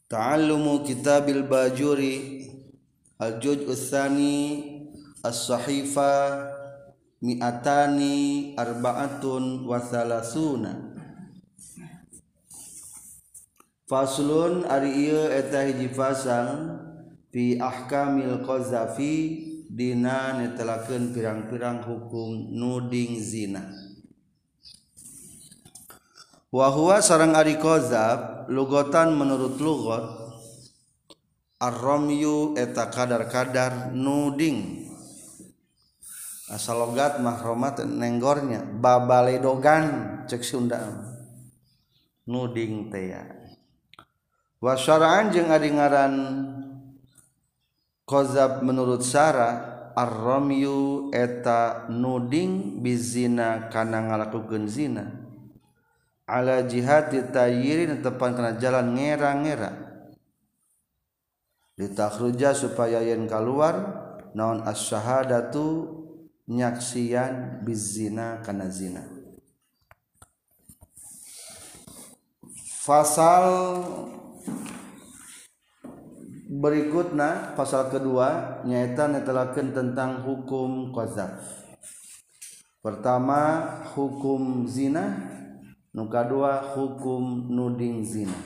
Ta'allumu kitabil bajuri al-juz'u tsani as-sahifa mi'atani arba'atun wa salasuna. Faslun ari ieu eta hiji fasal fi ahkamil qazafi dina netelakeun pirang-pirang hukum nuding zina. Wa huwa sareng ari qazaf lugotan menurut lugot ar-ramyu eta kadar-kadar nuding. Asal logat mahromat nenggornya babaledogan cek Sunda nuding teh ya. Wa syara'an jeung ari ngaran qazaf menurut syara ar-ramyu eta nuding bizina kana ngalakukeun zina ala jihati tayyirin tepan kana jalan ngera-ngera ditakhruja supaya yen keluar naon as-syahadatu nyaksian bizina kana zina. Fasal berikutna pasal kedua nyaeta netelakeun tentang hukum qazaf. Pertama hukum zina, nu kadua hukum nuding zina.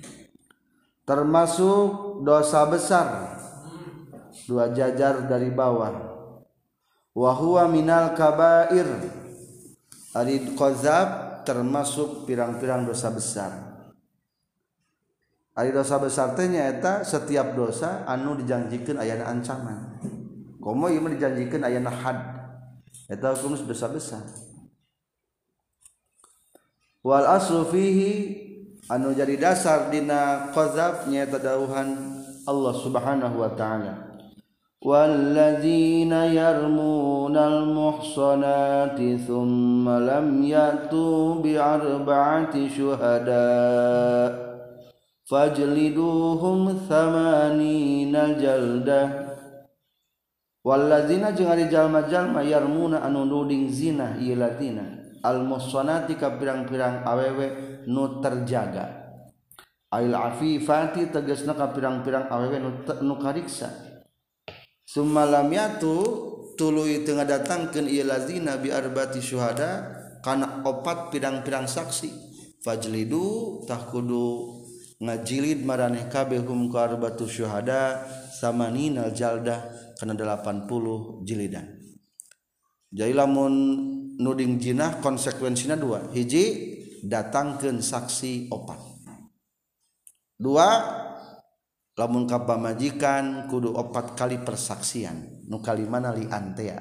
Termasuk dosa besar dua jajar dari bawah. Wa huwa minal kabair. Ari qazaf termasuk pirang-pirang dosa besar. Ari dosa besar teh nyaeta setiap dosa anu dijanjikeun ayana ancaman. Komo ieu mah dijanjikeun ayana had. Eta hukum dosa besar. Wal aslu fihi anu jadi dasar dina qazaf nyaeta dawuhan Allah Subhanahu wa taala. Walladzina yarmunal muhsanati tsumma lam yatu bi arba'ati syuhada fajliduhum thamanina jaldah. Walladzina jeung ari jalma-jalma yarmuna anu nuding zina ieu ladina al-muhsanati ka pirang-pirang awewe nu terjaga. Ail afifati tegasna ka pirang-pirang awewe nu kariksa. Summalam yatu tuluy teu ngadatangkeun ieu lazina bi arbati syuhada kana opat pirang-pirang saksi. Fajlidu tah kudu ngajilid maraneh kabeh hum ka arbatu syuhada samanina jaldah kana 80 jilidan. Jadi lamun nuding jinah konsekuensina dua. Hiji datangkeun saksi opat. Dua lamun ka pamajikan kudu 4 kali persaksian. Nu kalimana lian teh.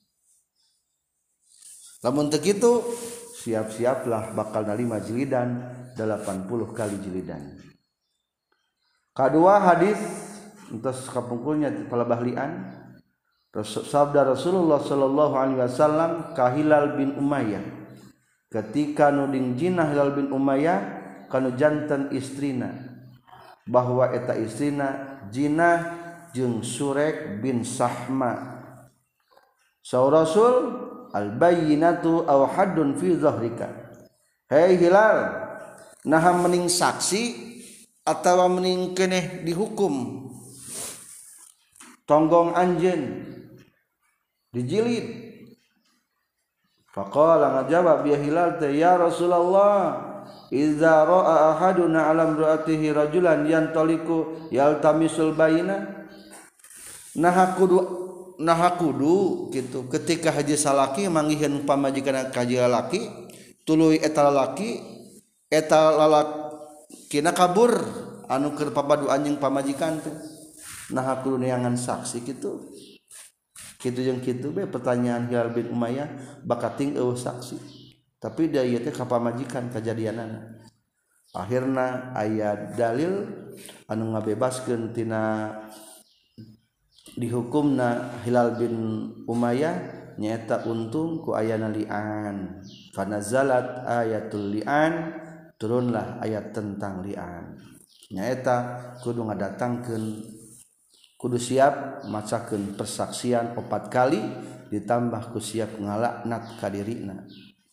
Lamun teu kitu siap-siaplah bakal narima jilidan 80 kali jilidan. Kadua hadis entos kapungkulnya palebah lian. Sabda Rasulullah sallallahu alaihi wasallam ka Hilal bin Umayyah ketika nuding jinah Hilal bin Umayyah kana janten istrina bahwa eta istrina jinah jeung Surek bin Sahma. Saur Rasul al bayyinatu aw haddun fi zahrika. Hei Hilal, naha mending saksi atawa mending keneh dihukum tonggong anjeun dijilid. Faqala ngajawab ya Hilal teh ya Rasulullah idza ra'a ahaduna alam ra'atihi rajulan yantaliku yaltamisul bayina naha kudu gitu ketika haji salaki manggiheun pamajikan ka haji lalaki tuluy eta lalaki eta lalakina kabur anu keur papadu anjeun pamajikan teh naha kudu neangan saksi kitu. Kitu jeung kitu be pertanyaan Hilal bin Umayyah bakating eueuh saksi. Tapi dia ieu teh ka pamajikan kajadianana. Akhirna aya dalil anu ngabebaskeun tina dihukumna Hilal bin Umayyah nyaeta untung ku ayana li'an. Fanazalat ayatul li'an turunlah ayat tentang li'an. Nyaeta kudu ngadatangkeun kudu siap macakeun persaksian 4 kali ditambah ku siap ngalaknat ka dirina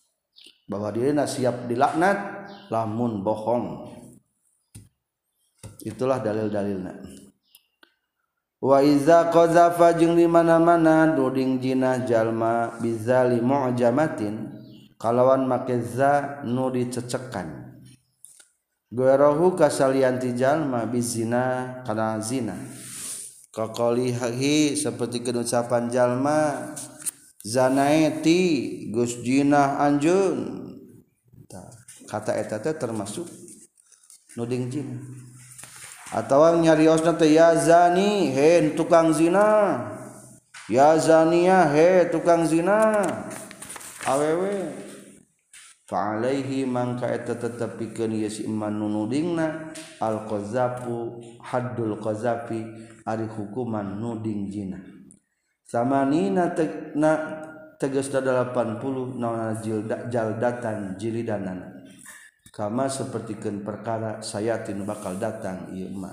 bahwa dirina siap dilaknat lamun bohong. itulah dalil-dalilna. Wa iza qazafa jeung di mana-mana nuding jinah jalma bizali mu'jamatin kalawan make za nu dicecekan goerohu kasalianti jalma bizina kana zina kaqalihi seperti ucapan jalma zanaeti gus jinah anjeun kata eta teh termasuk nuding jinah atawa nyariosna teh ya zani he tukang zina ya zania he tukang zina awewe fa alaihi mangka eta tetep pikeun ieu si iman nudingna al qazafu haddul qazafi ari hukuman nuding zina samanina tegasna 80 naon jaldatan jilidanan kama sapertikeun perkara sayatin bakal datang ieu mah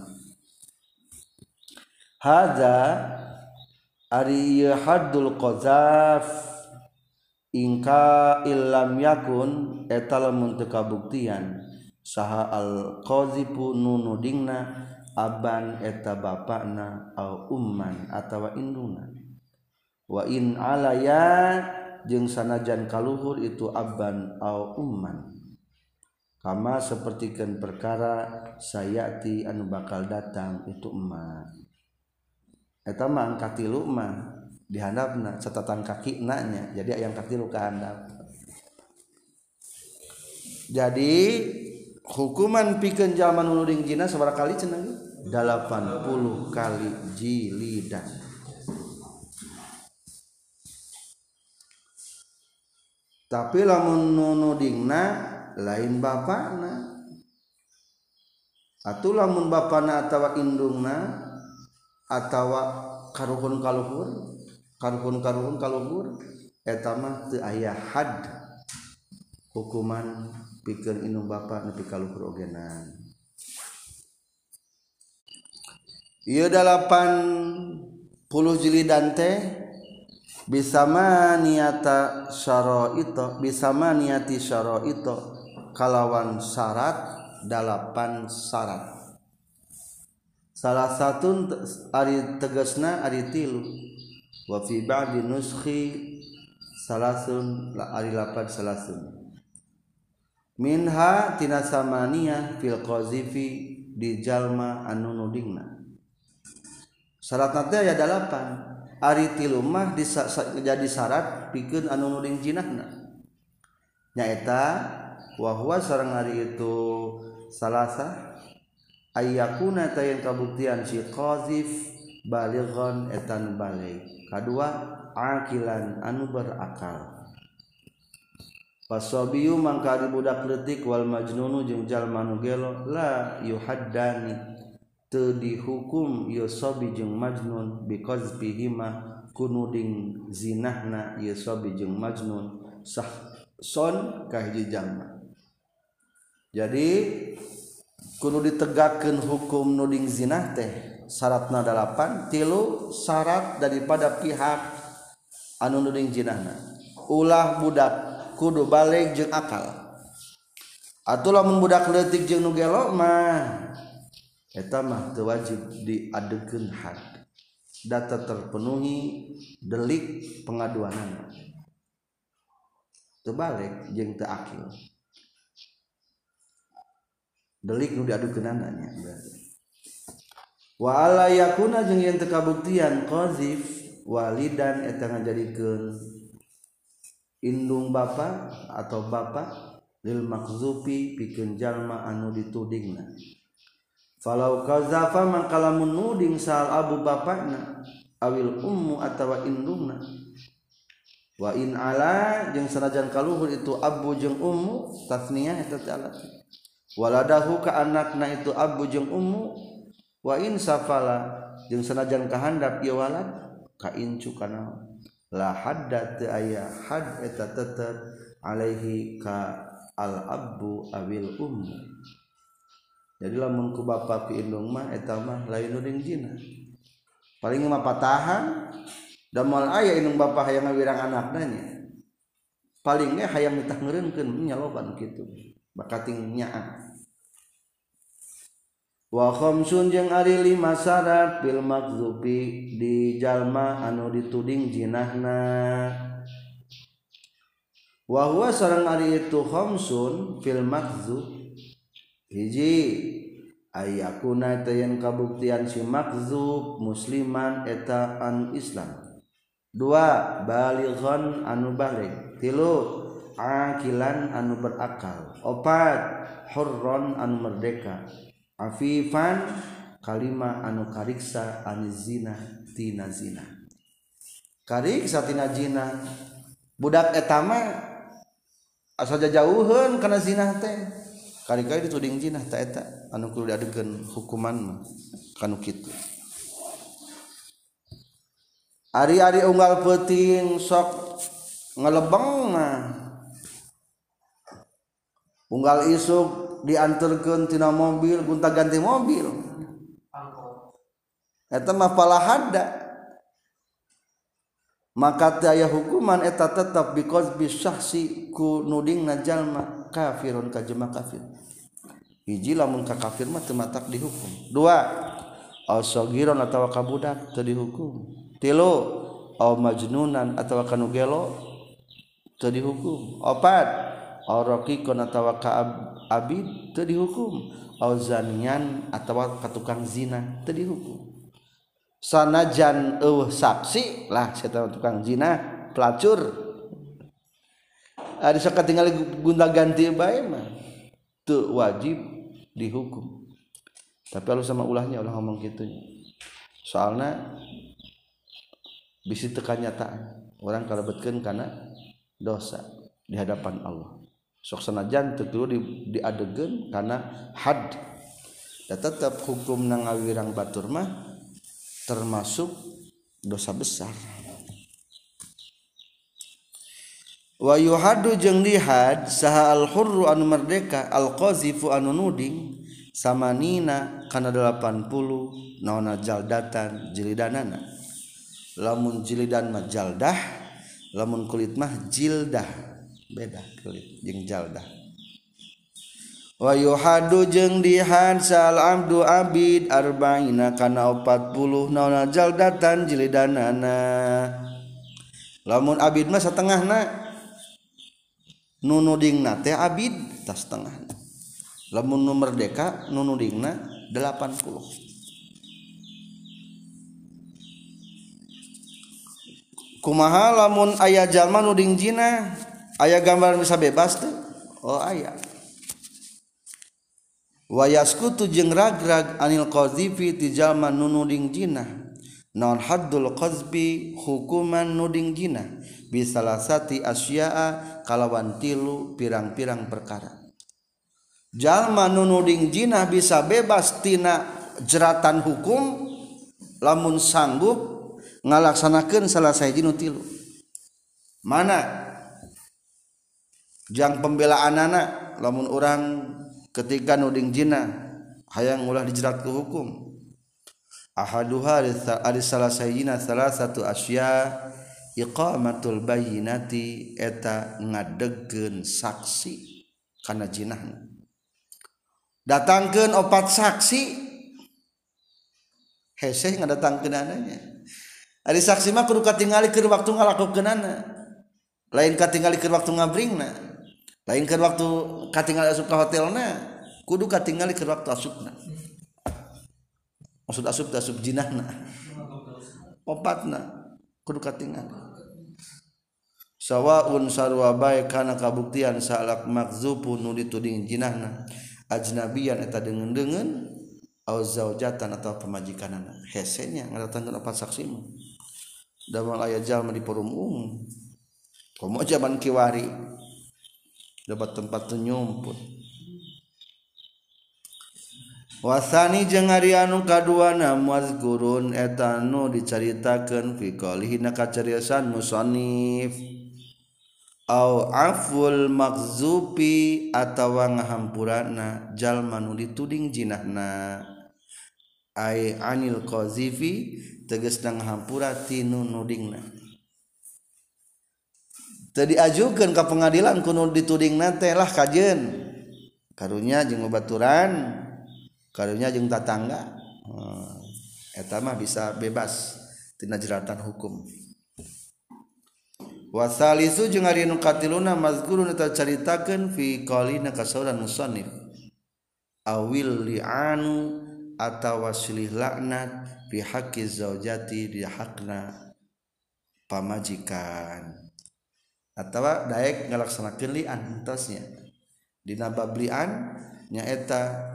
hadza ari ieu haddul qazaf ingka illam yakun eta lamun teu kabuktian saha al qazifu nunudingna aban eta bapana au umman atawa induna wa in alaya jeung sanajan kaluhur itu aban au umman kama sapertikeun perkara sayati anu bakal datang itu emak eta mah angka 3 mah di handapna catatan kaki nya jadi aya angka 3 ka handap jadi hukuman pikeun jalma nu nuding jina sabaraha kali cenah 80 kali jilidan tapi lamun nudingna lain bapana atuh lamun bapana atawa indungna atawa karuhun kaluhur eta mah teu aya had hukuman pikeun indung bapa nepi kaluhur ogenan ieu 80 jilidan teh bisama niati syaraito kalawan syarat 8 syarat salah satu ari tegasna ari 3 wa fi ba'di nuskhi salasun ari 8 salasun minha tina samaniyah fil qazifi di jalma anu nudingna syaratna teh aya 8 ari 3 mah jadi syarat pikeun anu nuding jinahna nyaeta wa huwa sareng ari itu salasa ayyakuna tayan kabuktian si qazif balighan etan baligh kadua aqilan anu berakal wasabiyu mangka ari budak leutik wal majnunu jeung jalma nu gelo la yuhaddani teu dihukum ieu sabi jeung majnun bi qazfihima kunuding zinahna ieu sabi jeung majnun sah son ka hiji jalma jadi kudu ditegakkeun hukum nuding zina teh syaratna 8 3 syarat daripada pihak anu nuding zinahna ulah budak kudu balig jeung akal atuh lamun budak leutik jeung nu gelo mah eta mah teu wajib diadegeun had data terpenuhi delik pengaduanana teu balig jeung teu akil delik nu diadukeunana nya berarti wa ala yakuna jeung yen teu kabuktian qazif walidan eta ngajadikeun indung bapa atau bapa lil makzufi pikeun jalma anu ditudingna falau qazafa mangka lamun nuding sal abu bapana awil ummu atawa indungna wa in ala jeung sanajan kaluhur itu abu jeung ummu tasniyah eta teh alat waladahu ka anakna itu abu jeung ummu wa in safala jeung sanajan kahandap ieu walad ka incu kana la hadda teu aya had eta tetep alaihi ka al abu awil ummu jadi lamun ku bapa pi indung mah eta mah lain nuding jina paling mah patahan da moal aya indung bapa hayang ngawirang anakna nya paling ge hayang ditah ngeureunkeun nya loba kitu bakating nyaah wa khamsun jeung ari 5 syarat fil makzubi di jalma anu dituding jinahna wa huwa sareng ari itu khamsun fil makzub hiji ayakuna tayan kabuktian si makzub musliman eta anu Islam. 2 balighan anu baligh. 3 akilan anu berakal. 4 hurron anu merdeka. Afifan kalima anu kariksa anizina tina zina. Kariksa tina zina budak eta mah asa jauheun kana zina teh. Kali-kali dituding zina ta eta anu kudu diadegeun hukuman mah kanu kitu. Ari-ari unggal peuting sok ngelebeng mah unggal isuk dianterkeun tina mobil gonta-ganti mobil eta mah palahada maka teu aya hukuman eta tetep because bisyahsi ku nudingna jalma kafirun ka jelema kafir hiji lamun ka kafir mah teu matak dihukum. 2 as-sagiron atawa ka budak teu dihukum. 3 au majnunan atawa kanu gelo teu dihukum. 4 au raqiqon atawa ka abid teu dihukum. Au zanian atawa ka tukang zina teu dihukum. Sanajan eueuh saksi lah eta tukang zina pelacur ari sok katingali gonta-ganti bae mah teu wajib dihukum. Tapi alus sama ulahnya ulah ngomong kitu soalna bisi teu kanyataan urang kalebetkeun kana dosa di hadapan Allah sok sanajan teu kudu diadegeun kana had da tetep hukum ngawirang batur mah termasuk dosa besar. Wa yuhaddu jeung dihad saha al hurru anu merdeka al qazifu anu nuding samanina kana 80 naona jaldatan jilidanana. Lamun jilidan mah jaldah, lamun kulit mah jildah. Beda kulit jeung jaldah. Wa yuhadu jeung dihad sal abdu abid arba'ina kana 40 naona jaldatan jilidanana. Lamun abid mah satengahna nu nudingna teh abid tas setengahna. Lamun nu merdeka nu nudingna 80. Kumaha lamun aya jalma nuding zina aya gambar bisa bebas teh? Oh aya. Wa yaskutu jeung ragrag anil qadzifi ti jalma nu nuding zina naon haddul qazbi hukuman nuding zina bisalasati asya'a kalawan 3 pirang-pirang perkara. Jalma nu nuding zina bisa bebas tina jeratan hukum lamun sanggup ngalaksanakeun salah sahiji nu 3. Mana jang pembelaanana lamun urang ketika nuding zina hayang ulah dijerat ku hukum. Ahaduha ari salah sayina salah satu asya iqamatul bayyinati eta ngadegkeun saksi kana zinahna. Datangkeun 4 saksi hese ngadatangkeun ananya. Ari saksi mah kudu katingali keur waktu ngalakokeunana. Lain katingali keur waktu ngabringna. Lain keur waktu katingali asup ka hotelna, kudu katingali keur waktu asupna. Maksud asup jinahna. 4na kudu katingali. Sawaun sarwa bae kana kabuktian salak makzubu nu dituding jinahna ajnabiyan eta deungeun-deungeun au zaujatan atau pemajikanana. Hesenya ngadatangkeun 4 saksi mah. Damal aya jalma di forum umum. Komo zaman kiwari dapat tempat nyumput. Wasani jeung ari anu kaduana mazkurun eta nu dicaritakeun fi qalihi na kacariyosan musannif au aful makzubi atawa ngahampurana jalma nu dituding jinahna ai anil qazifi tegasna ngahampura tinu nudingna teu diajukeun ka pengadilan kudu ditudingna teh lah kajeun karunya jeung babaturan karunya jeung tatangga eta mah bisa bebas tina jeratan hukum. Wasalisu jeung ari nu katiluna mazkurun eta caritakeun fi qaulina kasauran musannif awil li'anu atawa silih laknat fi haqqi zaujati di hakna pamajikan atawa daek ngalaksanakeun li'an entosnya dina bab li'an nyaeta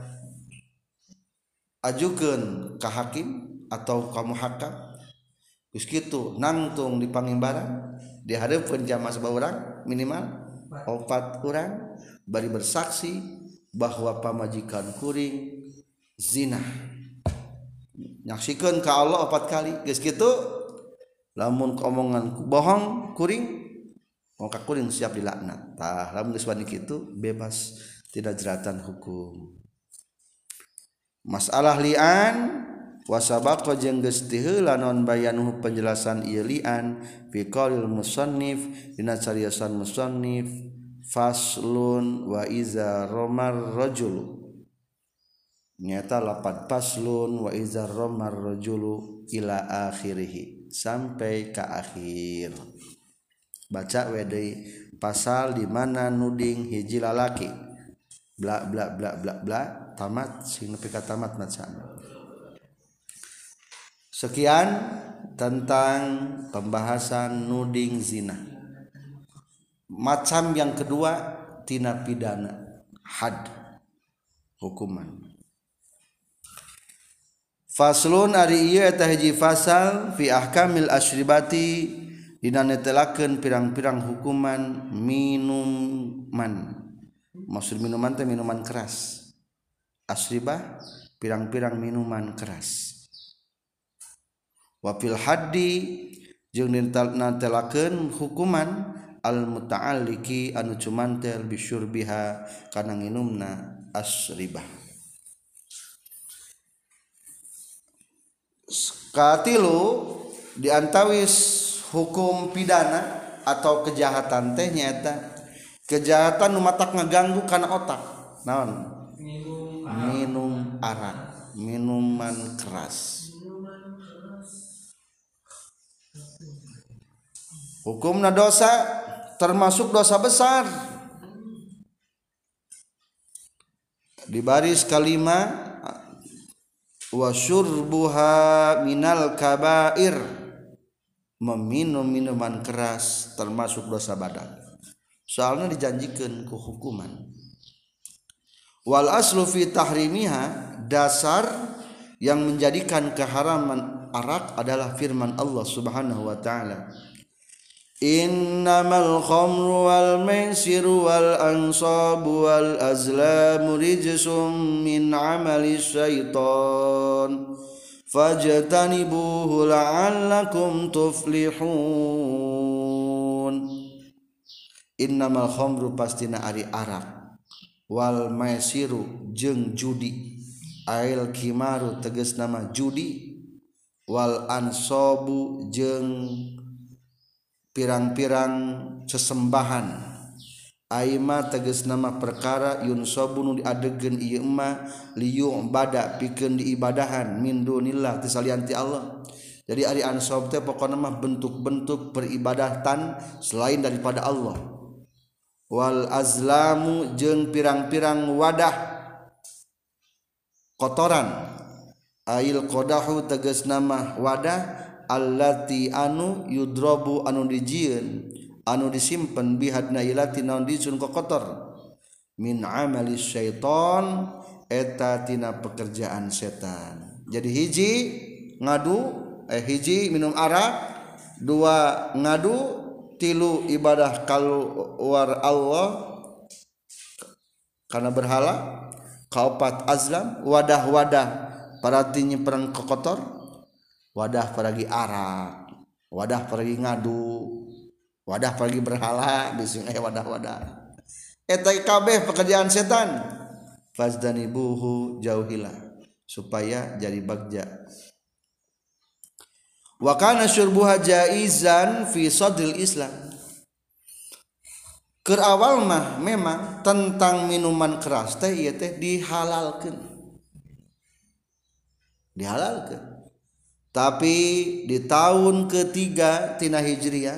ajukeun ka hakim atau ka muhakam geus kitu nangtung di pangimbaran dihareupeun jamaah sabaurang minimal 4 urang bari bersaksi bahwa pamajikan kuring zina nyaksikeun ka Allah 4 kali geus kitu lamun omongan bohong kuring maka kuring siap dilaknat tah lamun geus wani kitu bebas tidak jeratan hukum. Masalah li'an wasabaqa jeung geus teu heula naon bayanuhu penjelasan ieu li'an fi qaulil musannif dina cariyosan musannif faslun wa iza romar rajul nyata lapad faslun wa iza romar rajulu ila akhirih sampai ke akhir baca we deui pasal di mana nuding hiji lalaki bla bla bla bla bla tamat sing nepi ka tamat macana. Sekian tentang pembahasan nuding zina. Macam yang kedua tina pidana had hukuman. Faslun ari ieu eta hiji fasal fi ahkamil asyribati dina netelakeun pirang-pirang hukuman minuman. Maksud minuman teh minuman keras. Asribah pirang-pirang minuman keras. Wa fil haddi jeung nantelakeun hukuman al muta'alliqi anu cumantel bisyurbiha kana nginumna asribah. Katilu diantawis hukum pidana atau kejahatan teh nyaeta kejahatan nu matak ngaganggu kana otak naon minum arak minuman keras. Hukumna dosa termasuk dosa besar. Di baris kalima wa syurbuha minal kabair meminum minuman keras termasuk dosa badan. Soalnya dijanjikan ku hukuman. Wal aslu fi tahrimiha dasar yang menjadikan keharaman arak adalah firman Allah Subhanahu wa taala. Innamal khamru wal maisiru wal ansabu wal azlamu rijsum min amali syaitan fajtanibuhu la'allakum tuflihun. Innamal khamru pastina ari arak wal maisiru jeung judi ail kimaru tegas nama judi wal ansabu jeung pirang-pirang sesembahan aima tegas nama perkara yunsabu nu diadegeun ieu mah liyu bada pikeun diibadahan min dunillah tisalianti Allah. Jadi ari ansab teh pokona mah bentuk-bentuk peribadatan selain daripada Allah. Wal azlamu jeung pirang-pirang wadah kotoran ail qadahu tegas nama wadah allati anu yudrabu anu dijieun anu disimpen bihadna ilati naon disun kotor min amali syaiton eta tina pekerjaan setan. Jadi hiji ngadu hiji minum arak, dua ngadu, tilu ibadah kaluar Allah karena berhala, kaopat azlam wadah-wadah paratinya perang kotor, wadah peragi arak, wadah peragi ngadu, wadah peragi berhala, bising wadah-wadah. Eta kabeh pekerjaan setan. Fazdanibuhu jauhilah supaya jadi bagja. Wa kana syurbuha jaizan fi sadril Islam. Keur awal mah memang tentang minuman keras teh ieu teh dihalalkeun. dihalalkeun. Tapi di tahun ketiga tina hijriyah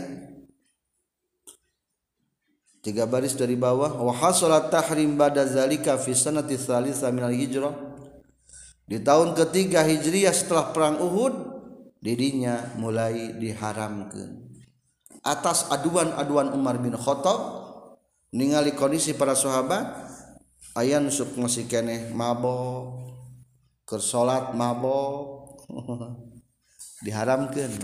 3 baris dari bawah wa hasalat tahrim ba'da zalika fi sanati tsalitsah minal hijrah. Di tahun ketiga hijriyah setelah perang Uhud didinya mulai diharamkeun. Atas aduan-aduan Umar bin Khattab ningali kondisi para sahabat aya nu sok masih keneh mabok keur salat mabok diharamkeun.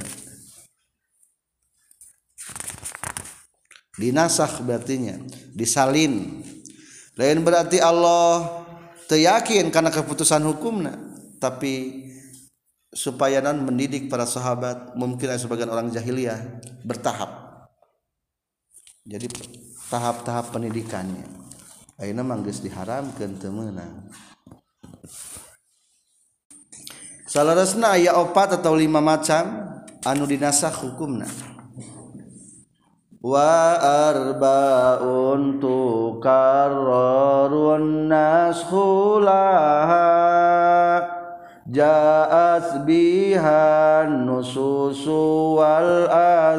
Dinasakh berartinya disalin. Lain berarti Allah teu yakin kana keputusan hukumna, tapi supaya non mendidik para sahabat, mungkin ada sebagian orang jahiliyah bertahap. Jadi tahap-tahap pendidikannya. Ayeuna mah geus diharamkeun teu meunang. Salarasna aya 4 atau 5 macam anu dinasakh hukumna. Wa arba'un tukarrarun naskhulaha ja'at bihan nususu wal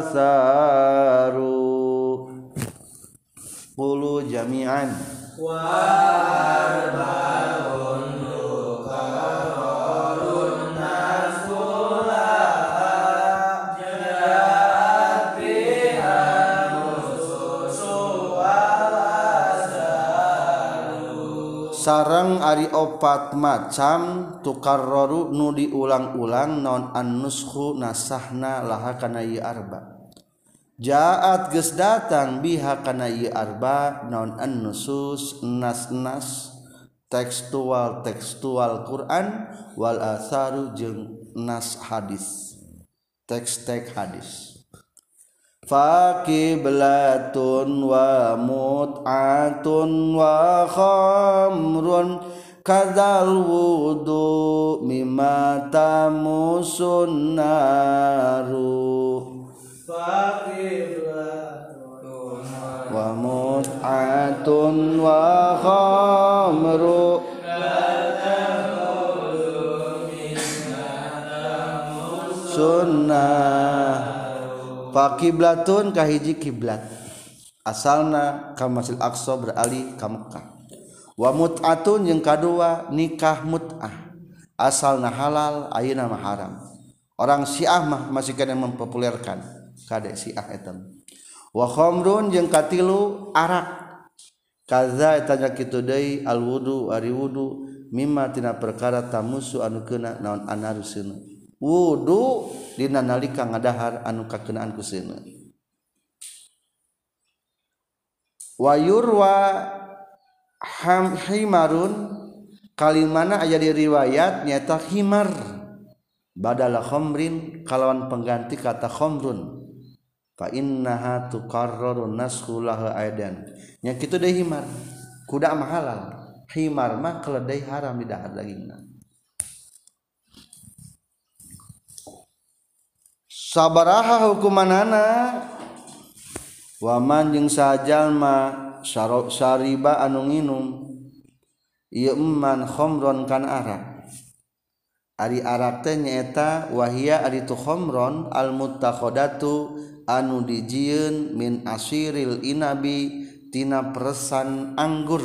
asaru. Qulu jami'an wa arba'un tukarrarun naskhulaha ja'at bihan nususu wal asaru. Sareng ari 4 macam tukarraru nu diulang-ulang naon an-nuskhu nasahna laha kana ieu arba. Ja'at geus datang biha kana ieu arba naon an-nusus nas-nas tekstual Quran wal atharu jeung nas hadis teks-teks hadis. Faqiblatun wa mut'atun wa khamrun kadzal wudu mimma tamusun naru. Faqiblatun wa mut'atun wa khamru sunnah. Faqiblatun kahiji kiblat asalna ka Masjid Aqsa beralih ka Mekah. Wa mut'atun yang kedua nikah mut'ah asalna halal ayeuna mah haram. Orang Syiah mah masih kena mempopulerkan kade Syiah eta. Wa khamrun jeung katilu arak. Kaza eta nya kitu deui al wudu ari wudu mimma tina perkara tamusu anu keuna naon anaruseuna. Wudu dina nalika ngadahar anu kakeunaan ku seuneu. Wa yurwa himarun kalimana aya di riwayat nyata himar badala khamrin kalawan pengganti kata khamrun fa innaha tuqarraru naskhu laha aidan nya kitu deui himar kuda mah halal himar mah keledai haram di dahar dagingna. Sabaraha hukumanana waman jeung sajalma syariba anu nginum ieu man khamron kan arak. Ari arak teh nyaeta wahia ari tu khamron al muttakhadatu anu dijieun min asiril inabi tina peresan anggur.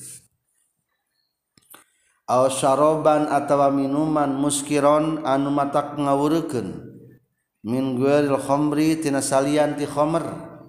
Aw syaraban atawa minuman muskiron anu matak ngawureukeun min ghairil khamri tina salian ti khamr.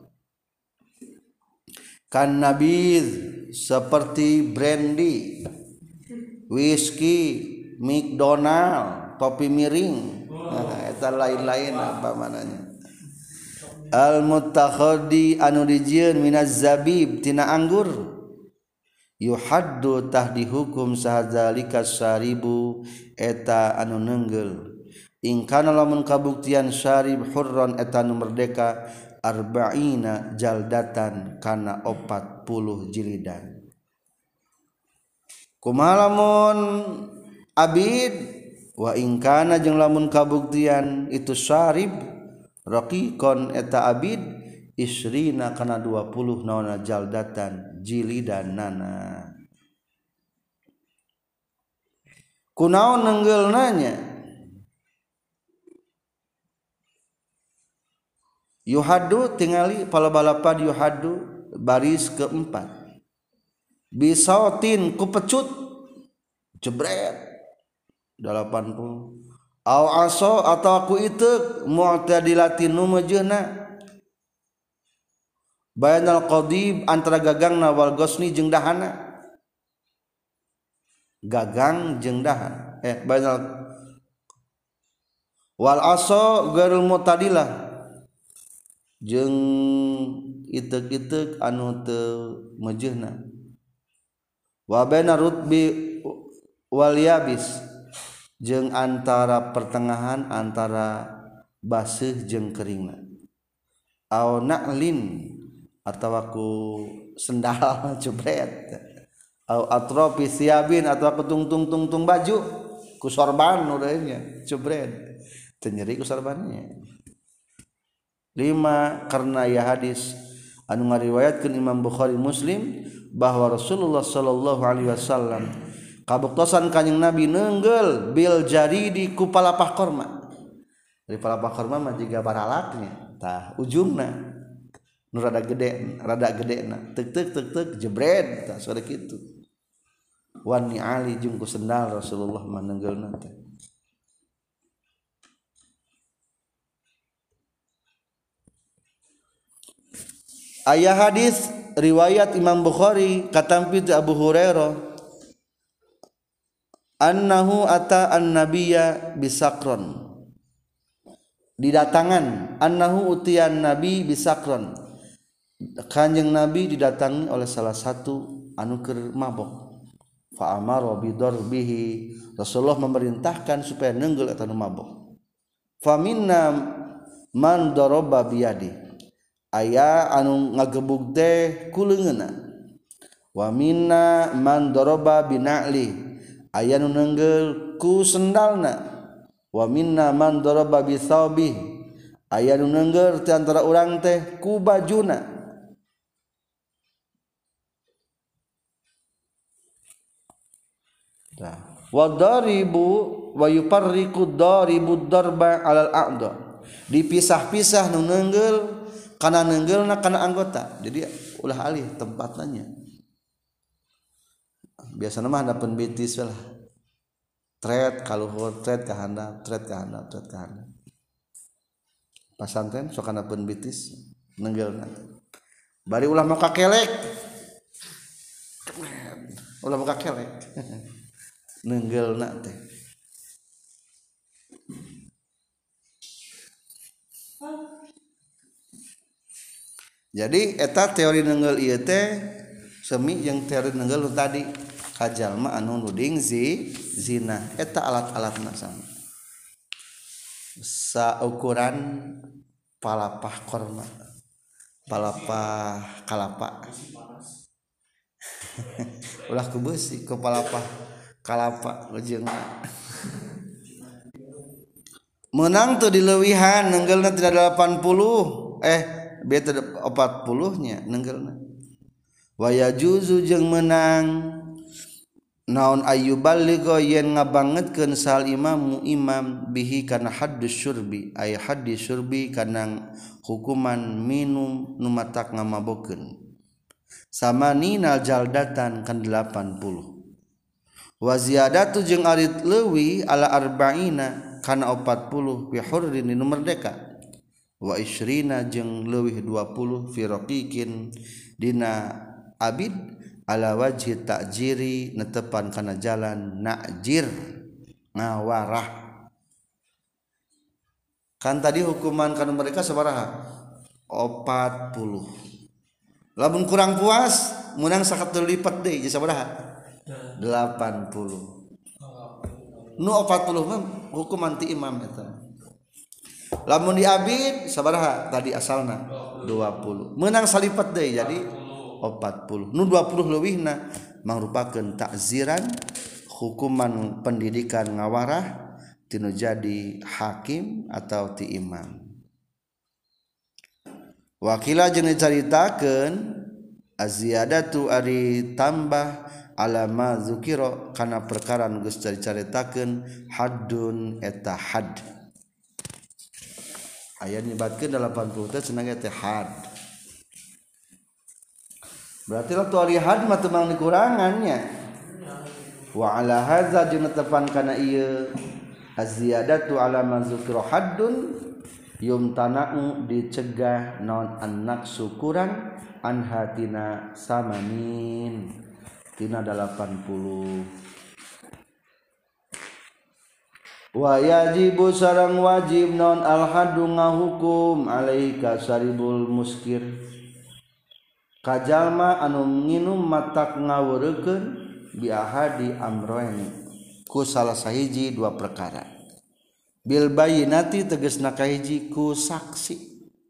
Kan nabiz seperti brandy, whisky, McDonald, topi miring. Eta lain-lain apa mananya. Al mutakhaddi anu dijieun minaz zabib tina anggur. Yuhaddu tah dihukum sahadzalika syaribu eta anu neungeul. In kana lamun kabuktian syarib hurran eta anu merdeka arba'ina jaldatan kana 40 jilidan. Kumaha lamun abid wa in kana jeung lamun kabuktian itu syarib raqiqon eta abid isrina kana 20 naona jaldatan jilidan nana. kunaon nenggeulnanya yuhadu tingali palabalapan yuhadu baris keempat bisautin ku pecut jebret 80 au aso atau aku itu mu'tadilatin nu mejeuna bayanal qadib antara gagangna wal gosni jeung dahana gagang jeung dahan bayanal wal aso gairul mu'tadilah jeung itek-itek anu teu mejeuna wa baina rutbi wal yabis jeung antara pertengahan antara baseuh jeung keringna au na'lin atawa ku sendal jebret au atrofi siabin atawa ku tung baju ku sorban urang nya jebret teu nyeri ku sorbannya 5 karena ya hadis anu ngariwayatkeun Imam Bukhari Muslim bahwa Rasulullah sallallahu alaihi wasallam kabuktosan kanjing Nabi neungeul bil jaridi ku palapah korma. Dari palapah korma mah jiga baralaknya tah ujungna nu rada gedena teuk jebret tah sore kitu wani ali jeung ku sendal Rasulullah mah neungeulna teh. Aya hadis riwayat Imam Bukhari katampi ti Abu Hurairah annahu ata an-nabiyya bisakron didatangan annahu utiyan nabi bisakron kanjeng nabi didatangi oleh salah satu anu keur mabok fa amara bidarbihi Rasulullah memerintahkan supaya neunggel eta nu mabok fa minna man daraba biyadi aya anu ngagebug teh ku leungeunna wa minna man daraba bina'li aya nu neunggel ku sendalna wa minna man daraba bi thawbi aya nu neunggel ti antara urang teh ku bajuna wa daribu wa yufarriqu daribu darba alal a'dha dipisah-pisah nu neunggel kana neunggeulna kana anggota jadi ulah alih tempatnya biasana mah handapeun bitis lah tret kaluhur tret ka handap tret ka handap tret ka handap pasantren sok handapeun bitis neunggeulna bari ulah mau kakelek ulah mau kakelek neunggeulna teh jadi eta teori neungeul ieu teh semi jeung teori neungeul tadi kajalma anu nuding zina eta alat-alatna sama saukuran palapah korma palapah kalapa ulah ku beusi ku palapah kalapa lejeungna menang teu dileuwihan neunggeulna tidak 80 beta 40-nya neunggeulna wa yajuzu jeung menang naon ayyuballigha yen ngabangetkeun sal imam bihi kana haddus syurbi ay haddus syurbi kana hukuman minum nu matak ngamabokeun samaninal jaldatan kan 80 wa ziyadatu jeung arit leuwih ala arba'ina kana 40 bi hurrin nu merdeka wa isyrina jeung leuwih 20 fi raqiqin dina abid ala wajhi ta'jiri netepan kana jalan na'jir ngawarah kan tadi hukuman kana mereka sabaraha 40 lamun kurang puas menang sakateu lipat deui jadi sabaraha 80 nu 40 mah hukuman ti imam eta lamun di abid sabaraha tadi asalna 20 menang salipat deui jadi 40 nu 20 leuwihna mangrupakeun ta'ziran hukuman pendidikan ngawarah tinu jadi hakim atau ti imam wakila jeung dicaritakeun aziyadatu ari tambah alama zukiro kana perkara nu geus dicaritakeun haddun eta had aya nyebatkeun 80 teh cenah teh had berarti lah tu ari had mah teu mang dikurangannya wa ala hadza jeung netepan kana ieu aziyadatu alama zukiro haddun yumtana'u dicegah naon an-naqsu kurang an hatina samanin tina 80 wa yajibu sareng wajib naon al-haddu ngahukum alaika saribul muskir kajalma anu nginum matak ngaweurekeun bi ahadi amroyn ku salah sahiji dua perkara bil bayyinati tegasna kahiji ku saksi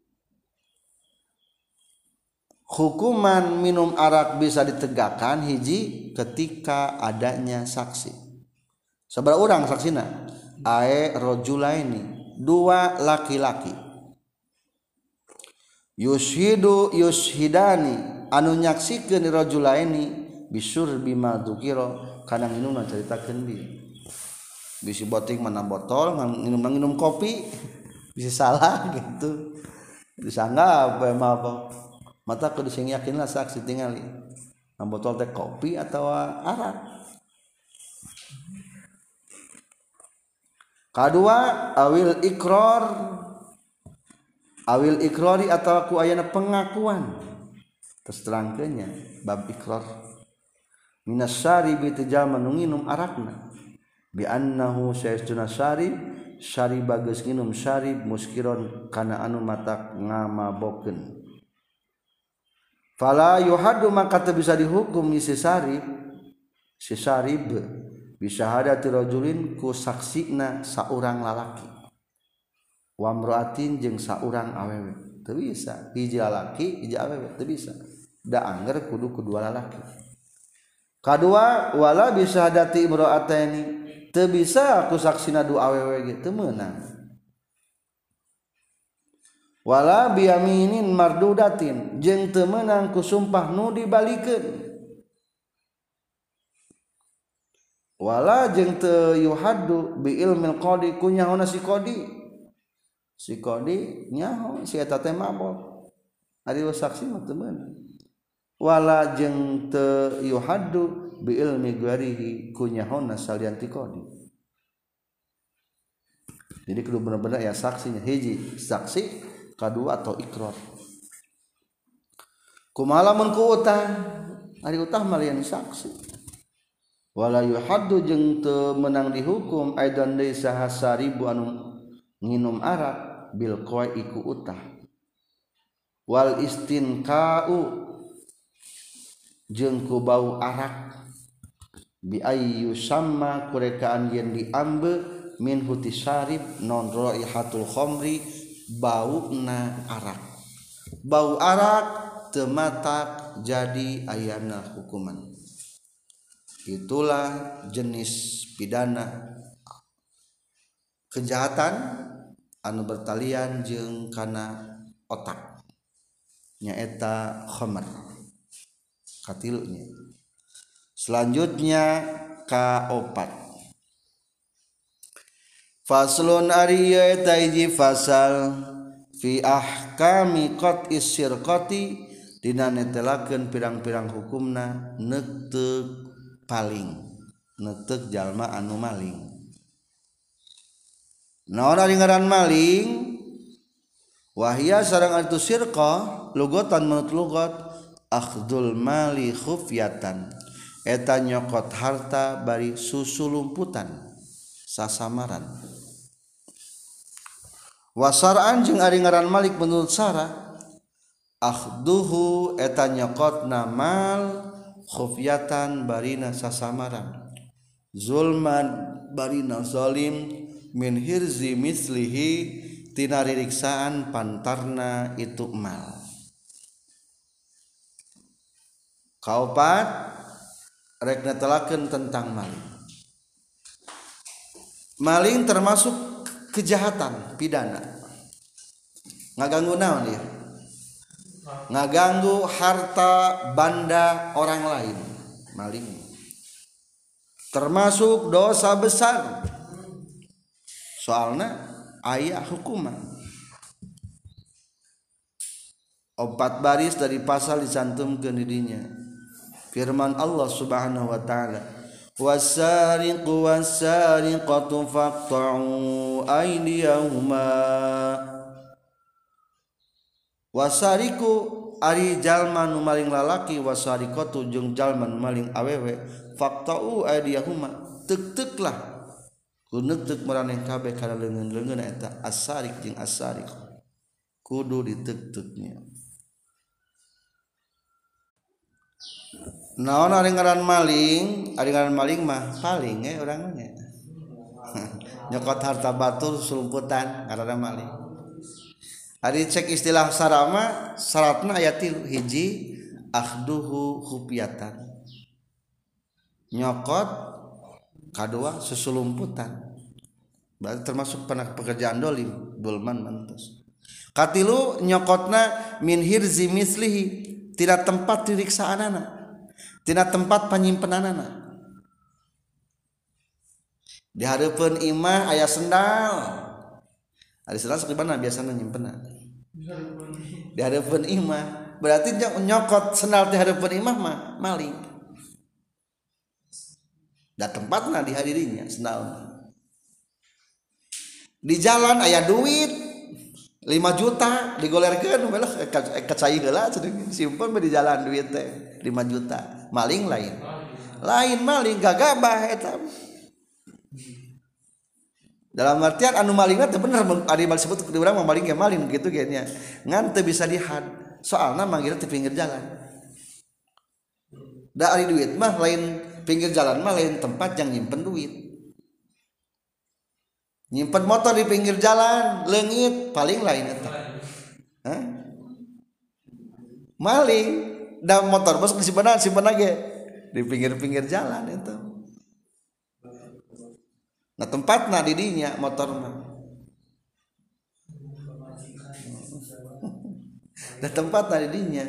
hukuman minum arak bisa ditegakkan hiji ketika adanya saksi. Sabaraha urang saksina? Ae rajulaini, dua laki-laki. Yushhidani anu nyaksikeun rajulaini bisyurbi ma dzukira kana nginumna caritakeun di. Bisi boting mana botol nginum kopi bisa salah gitu. Disangga apa apa mata kudu sing yakin lah saksi tingali botol teh kopi atau arak. Kadua awil ikrori atau ku ayana pengakuan terus terangkeunnya bab ikrar minas syaribi tejal menunginum arakna bi annahu sayastuna syarib bageus nginum syarib muskiron kana anu matak ngamabokeun fala yuhaddu maka teu bisa dihukum si sarib bisyahadati rajulin ku saksina saurang lalaki wa mraatin jeung saurang awewe teu bisa hiji lalaki hiji awewe teu bisa da angger kudu kedua lalaki kadua wala bisyahadati imra'ataini teu bisa ku saksina dua awewe ge teu meunang wala biyaminin mardudatin jeung teu meunang ku sumpah nu dibalikeun wala jeung teu yuhaddu bi ilmil qadi ku nyaona si qadi nyaho si eta teh mabok ari saksi mah teu meunang wala jeung teu yuhaddu bi ilmi ghairihi ku nyaona salian ti qadi jadi kudu bener-bener ya saksinya hiji saksi kadua atau ikrar kumaha lamun ku utah ari utah mah lian saksi wala yuhaddu jeung teu meunang dihukum aidan deui saha saribu anu nginum arak bil qai ku utah wal istinqa'u jeung ku bau arak bi ayyu samma kurekaan yen diambe min huti sarib non raihatul khamri bauna bau arak tematak jadi ayana hukuman itulah jenis pidana kejahatan anu bertalian jeung kana otak nyaeta khamr katilunya selanjutnya kaopat faslun ariya taiji fasal fi ahkami qat'is sirqati dina netelakeun pirang-pirang hukumna neuteuk paling neuteuk jalma anu maling naon ari ngaran maling wahia sareng atu sirqah lugatan menurut lugat akhdul mali khufyatan eta nyokot harta bari susulumputan sasamaran wasar'an jeung ari ngaran malik menurut sara akhduhu eta nyokotna mal khufyatan barina sasamaran zulman barina zalim min hirzi mislihi tina ririksaan pantarna itu mal kaopat rek netelakeun tentang maling termasuk kejahatan pidana ngaganggu naon ieu ngaganggu harta banda orang lain, maling termasuk dosa besar. Soalnya aya hukuman 4 baris dari pasal dicantumkeun di dinya. Firman Allah Subhanahu wa taala, wasariqu wasariqatu faqta'u aydiyahuma. Wasariqu ari jalma nu maling lalaki, wasariqatu jeung jalma nu maling awewe, faqta'u aydiyahuma, teuk-teuklah kuneuk maraneh kabeh kana leungeun-leungeun eta as-sariq jeung as-sariq, kudu diteuk-teuknya. Naon ari ngaran maling? Ari ngaran maling mah paling urang nya. Nyokot harta batur sulumputan ngaranna maling. Ari cek istilah sarama syaratna aya 3, hiji akhduhu khufyatan. Nyokot, kadua susulumputan. Berarti termasuk pekerjaan dolim, bulman mantos. Katilu nyokotna min hirzi mislihi, tidak tempat diriksaanana. Tina tempat panyimpenanana. Di hareupeun imah aya sendal. Ari sendal sakibana biasana nyimpenna. Di hareupeun imah, berarti nyokot sendal di hareupeun imah mah maling. Da tempatna dihadirinya sendal. Di jalan aya duit 5 juta digolerkeun belah kacai heula simpen di jalan duit teh 5 juta. Maling lain maling gagabah eta. Dalam artian anu malingna teh bener ari disebut di urang maling ge maling kitu ge nya. Ngan teu bisa dihad. Soalna manggilna di pinggir jalan. Da ari duit mah lain pinggir jalan mah lain tempat yang nyimpen duit. Nyimpen motor di pinggir jalan, leungit paling lain eta. Hah? Maling da motor bos simpen ge di pinggir-pinggir jalan itu. Nah tempatna di dinya motor mah. Da tempatna di dinya.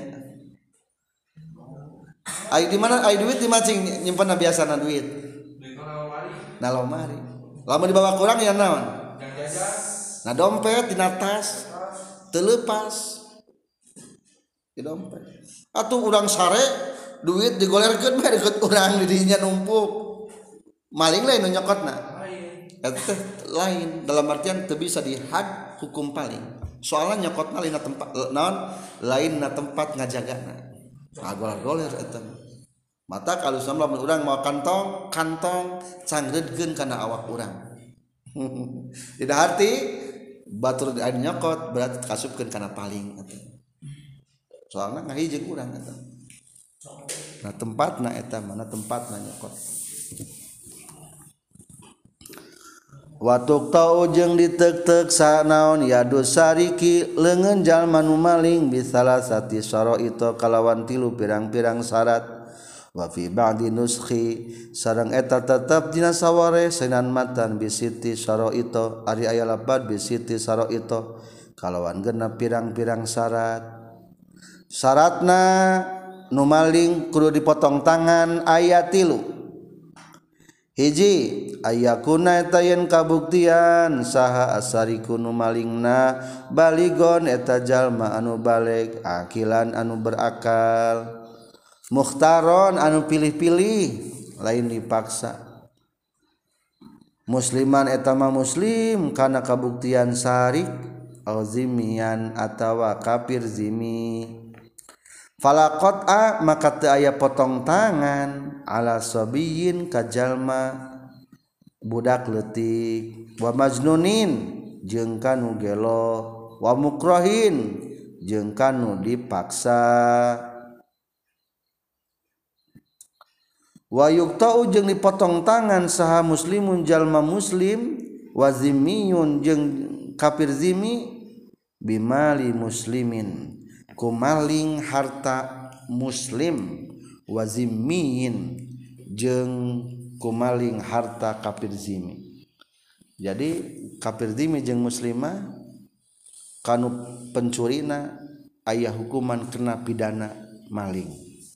Ai di mana ai duit di macing nyimpenna biasana duit. Nah lomari. Lamun dibawa kurang ya naon? Nah dompet di tas teu leupas. Di dompet. Atuh urang sare duit digolerkeun mah deket urang di dinya numpuk. Maling lain nu nyokotna. Eta lain dalam artian teu bisa dihad hukum paling. Soalna nyokotna lain tempat naon? Lainna tempat ngajagana. Goler-goler eta. Mata kalau lamun urang mau kantong cangredkeun kana awak urang. Tidak arti batur anu nyokot berarti kasupkeun kana paling eta. Soalna ngahijeng urang eta. Nah tempatna eta mana tempatna nyokot. Watuk tau jeung diteuk-teuk sanaon yadus sariki leungeun jalma nu maling bisalah sati syara'ita kalawan 3 pirang-pirang syarat. Wa fi ba'di nuskhi sareng eta tetep dina saware senan matan bisiti syara'ita ari aya lapad bisiti syara'ita kalawan genep pirang-pirang syarat. Syaratna nu maling kudu dipotong tangan aya 3. Hiji ayakuna eta yen kabuktian saha asariku nu malingna baligon eta jalma anu baleg akilan anu berakal mukhtaron anu pilih-pilih lain dipaksa musliman eta mah muslim kana kabuktian sarik au zimian atawa kafir zimi. Fala qat'a maka teu aya potong tangan ala sabiyin ka jalma budak leutik wa majnunin jeung kanu gelo wa mukrahin jeung kanu dipaksa wa yuqta'u jeung dipotong tangan saha muslimun jalma muslim wa zimmiyun jeung kafir zimmi bimali muslimin kumaling harta muslim wa zimmiin jeung kumaling harta kafir zimmi. Jadi kafir zimmi jeung muslimah kanu pencurina aya hukuman kena pidana maling.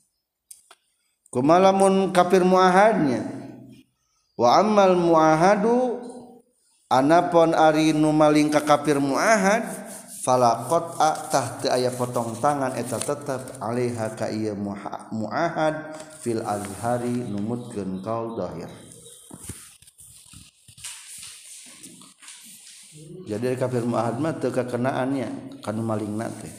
Kumalamun kafir muahadnya wa ammal muahadu anapun ari nu maling ka kafir muahad fala qat'a tah teu aya potong tangan eta tetep alaiha ka ieu muahad fil azhari numutkeun kaul zahir. Jadi kafir muahad mah teu kakenaannya kana malingna teh.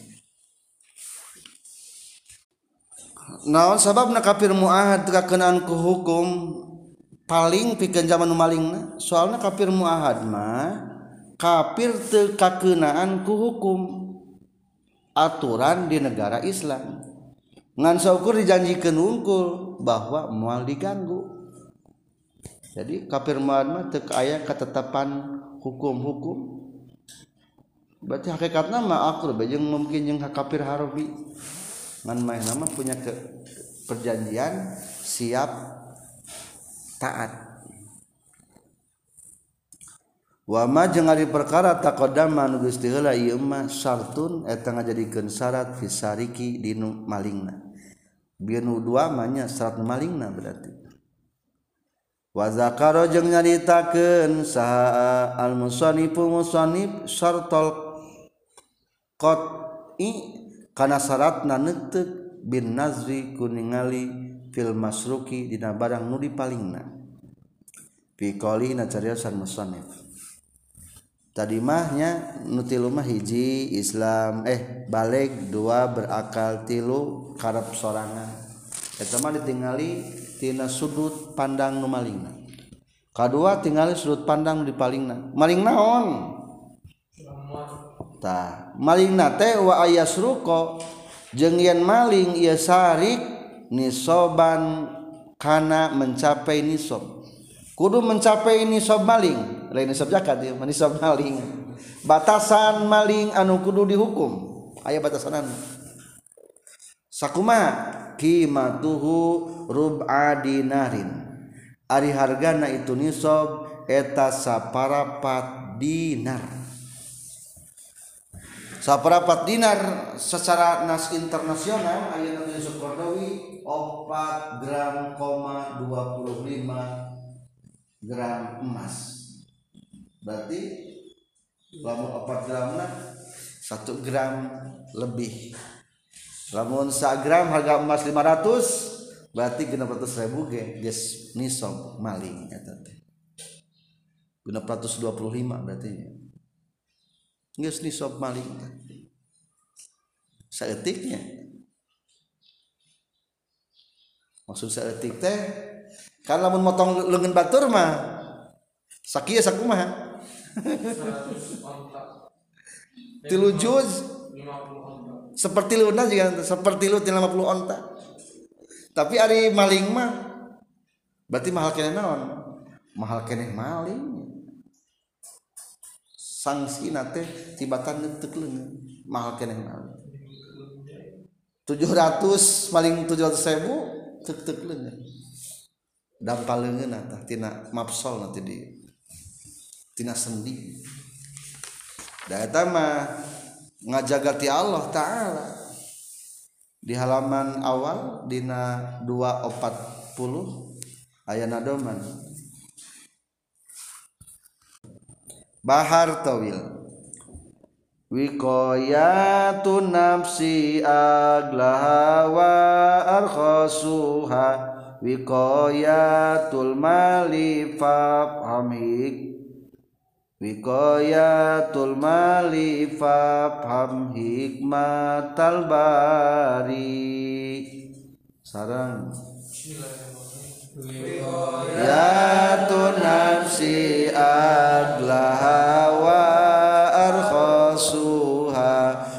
Naon sababna kafir muahad teu kakenaan ku hukum paling pikeun zaman malingna? Soalna kafir muahad mah kafir teu kakenaan ku hukum aturan di negara Islam. Ngan saukur dijanjikeun unggul bahwa moal diganggu. Jadi kafir muahad mah teu aya ketetapan hukum-hukum. Berarti hakikatna mah akur jeung mungkin jeung kafir harbi. Ngan main nama punya perjanjian siap taat. Wa ma jeung ari perkara taqaddama nu geus teu heula ieu mah syartun eta ngajadikeun syarat fisariki dinu malingna. Binu dua mah nya syarat malingna berarti. Wa zakara jeung nyaritakeun saha al musannifu musannif syartul qat'i kana syaratna neuteuk bin nazri kuningali fil masruki dina barang nu dipalingna fi qaulina cariyosan musannif tadi mahnya nu tilu mah hiji Islam baleg, dua berakal, tilu karep sorangan eta mah ditingali tina sudut pandang nu malingna. Kadua tingali sudut pandang nu dipalingna maling naon tah malingna teh wa ayasruqa jeung yen maling ieu sarik nisoban kana mencapai nisab kudu mencapai nisab maling lain nisab zakat ieu nisab maling batasan maling anu kudu dihukum aya batasanan sakumaha qimatuhu rub'a dinarin ari hargana itu nisab eta saparapat dinar. Saperapat dinar secara nas internasional aya nu disebut Qardawi 4 gram, 25 gram emas. Berarti lamun 4 gramna 1 gram lebih. Lamun 1 gram harga emas 500 berarti 600.000 ge geus nisab maling eta teh. 625 berarti geus nisab maling saeutiknya maksud saeutik teh kan lamun motong leungeun batur mah sakieu sakumaha 3 juz seperti luna juga seperti lu 50 onta tapi ari maling mah berarti mahal keneh naon mahal keneh maling sanksi nate tibatan neuteuk leungeun mahal keneh maling 700 maling 700.000 teuk leungeun dampal leungeun tah tina mafsal nanti di tina sendi da eta mah ngajaga ti Allah taala di halaman awal dina 240 aya nadoman Bahar Tawil wiqayatun nafsi aglaha wa arkhasuha wiqayatul mali fafhamik wiqayatul mali fafham hikmatal bari sareng wiqayatun nafsi aglaha wa arkhasuha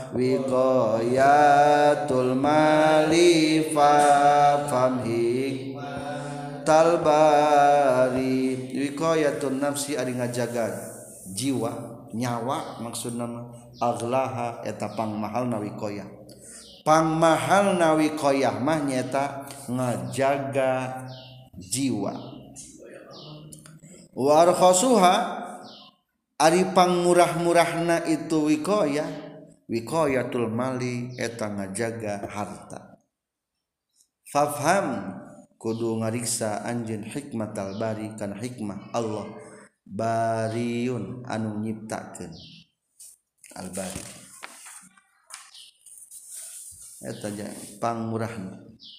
wiqayatul mali fafham hikmatal bari wiqayatun nafsi ari ngajaga jiwa nyawa maksudna aglaha eta pangmahalna wiqayah pangmahalna wiqayah mah nyata ngajaga jiwa warkhasuha ari pangmurah-murahna itu wiqayah wiqayatul mali eta ngajaga harta. Fafham kudu ngariksa anjeun hikmatal bari kana hikmah Allah bariun anu nyiptakeun al bari eta pangmurahna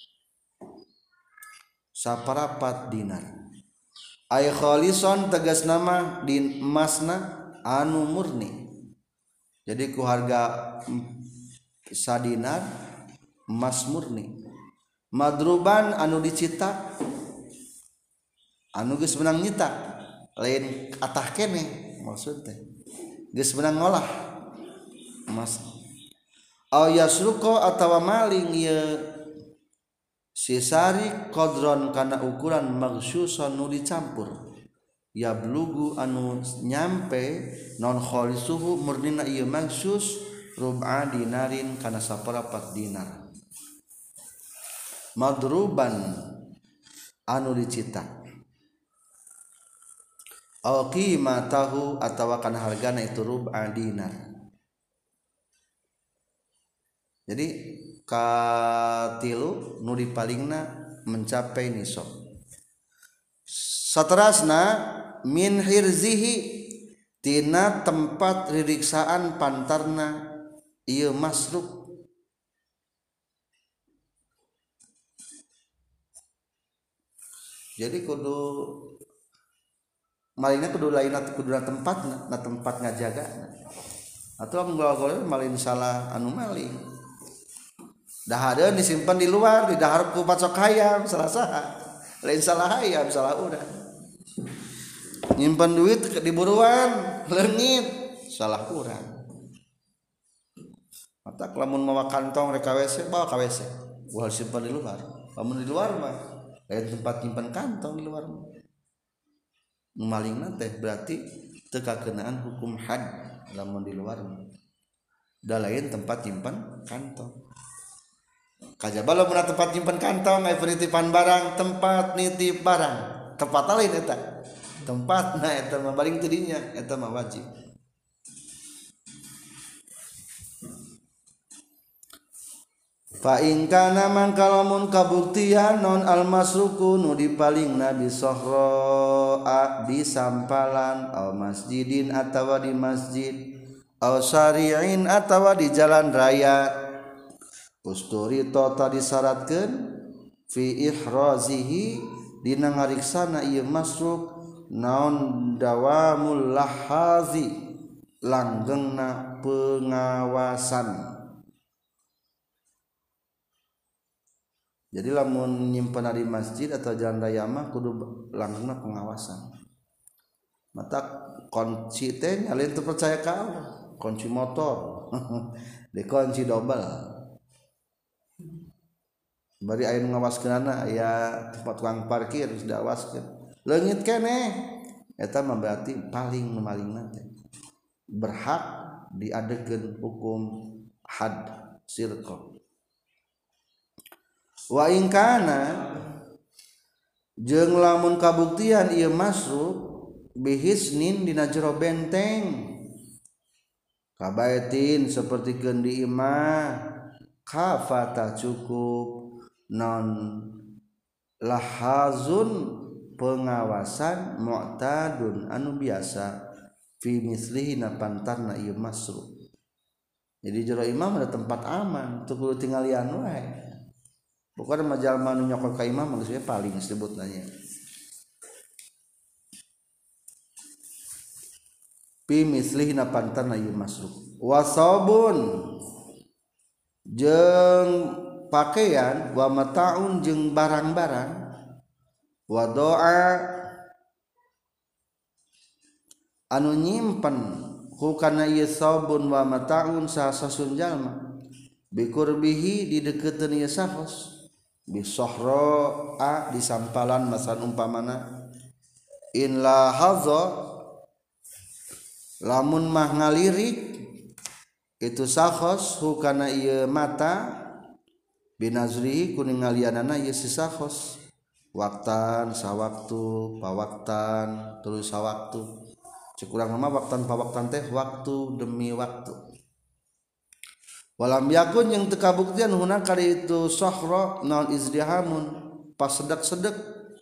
saparapat dinar ay khalison tegas nama din emasna anu murni. Jadi ku harga sadinar emas murni. Madruban anu dicitak anu geus menang nyitak lain atah keneh maksudnya geus menang ngolah emas. Aw yasruqo atawa maling ieu sisari qadron kana ukuran maghsyusan nu dicampur ya blugu anu nyampe non khalisuhu murnina ieu maghsyus rub'a dinarin kana saparapat dinar. Madruban anu dicitak aw qimatahu atawa kana hargana itu rub'a dinar. Jadi katilu nu dipalingna mencapai nisab. Saterasna min hirzihi tina tempat ririksaan pantarna ieu masruk. Jadi kudu malingna kudu lainna kudu tempatna, na tempat ngajaga. Atau nggawa malin salah anu maling. Dahareun disimpan di luar, di dahar ku pacok hayam salah saha. Lain salah hayam, salah urang. Nyimpan duit di buruan, leungit, salah urang. Mata lamun mawa kantong rek WC, bawa ka WC. Ulah simpan di luar. Lamun di luar mah lain tempat nyimpan kantong di luar mah. Malingna teh berarti teu kakeunaan hukum had lamun di luar mah. Da lain tempat nyimpan kantong. Kajaba lamun tempat nyimpen kantong aya penitipan barang, tempat nitip barang, tempat lain eta. Tempatna eta mah baring teu dinya, eta mah wajib. Fa in kana mangkalamun kabuktian non almasruku nu dipalingna bi sahra di sampalan aw masjidin atawa di masjid aw syari'in atawa di jalan raya. Usturi tota disyaratkeun fi ihrazihi dina ngariksana ieu masruk naon dawamul lahazi langgengna pengawasan. Jadi lamun nyimpen di masjid atau jalan raya mah kudu langgengna pengawasan. Mata kunci teh nyalin teu percaya ka Allah, kunci motor dikunci double. Bari aya ngawaskeunana aya tempat tukang parkir geus diawaskeun. Leungit keneh eta mah berarti paling malingna teh berhak diadegeun hukum had sirqa. Wa in kana jeung lamun kabuktian ieu masruk bihisnin dina jero benteng kabaitin sapertikeun di imah kafata cukup non lahazun pengawasan mu'tadun anu biasa fi mislihi na pantarna ieu masruk. Jadi jero imam ada tempat aman teu kudu tinggalian wae. Bukan majalma nu nyokot ka imam geus paling disebutna nya. Fi mislihi na pantarna ieu masruk. Wasabun jeung pakaian wa mataun jeung barang-barang wa doa anu nyimpen hukana ieu sabun wa mataun sasasun jalma bikurbihi di deukeuteun ieu sahos bi sahra di sampalan masan umpamana in la hadza lamun mah ngalirik itu sahos hukana ieu mata binazrihi kuning ngalianana ieu si sahos waktan sawaktu pawaktan terus sawaktu cekurang mah waktan pawaktan teh waktu demi waktu walam yakun yang teu kabuktian huna kali itu sahra naon izdihamun pas sedak-sedek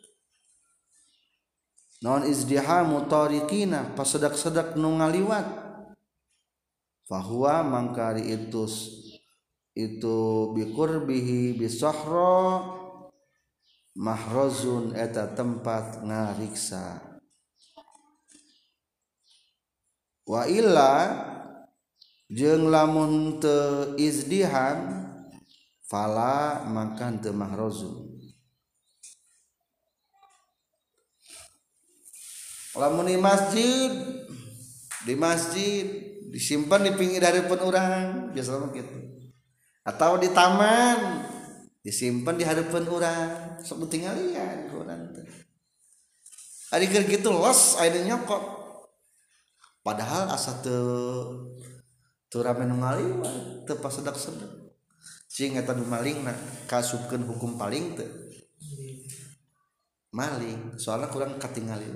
naon izdihamu tariqina pas sedak-sedek nu ngaliwat fahuwa mangkari itu biqurbihi bisahra mahrazun eta tempat ngariksa wa illa jeung lamun teu izdiham fala maka teu mahrazun lamun di masjid disimpan di pinggir harapan orang biasa mah kitu atau di taman disimpan di hadapan orang sok tinggalin urang teh ari keur kitu los aya nyokot padahal asa teu rame nu ngaliwat teu pasedak-sedak cing eta nu malingna kasupkeun hukum paling teu maling soalna kurang katingali